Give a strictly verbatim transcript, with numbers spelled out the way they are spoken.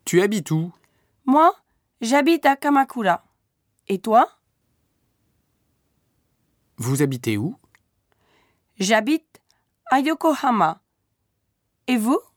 Tu habites où? Moi, j'habite à Kamakura. Et toi? Vous habitez où? J'habite à Yokohama. Et vous?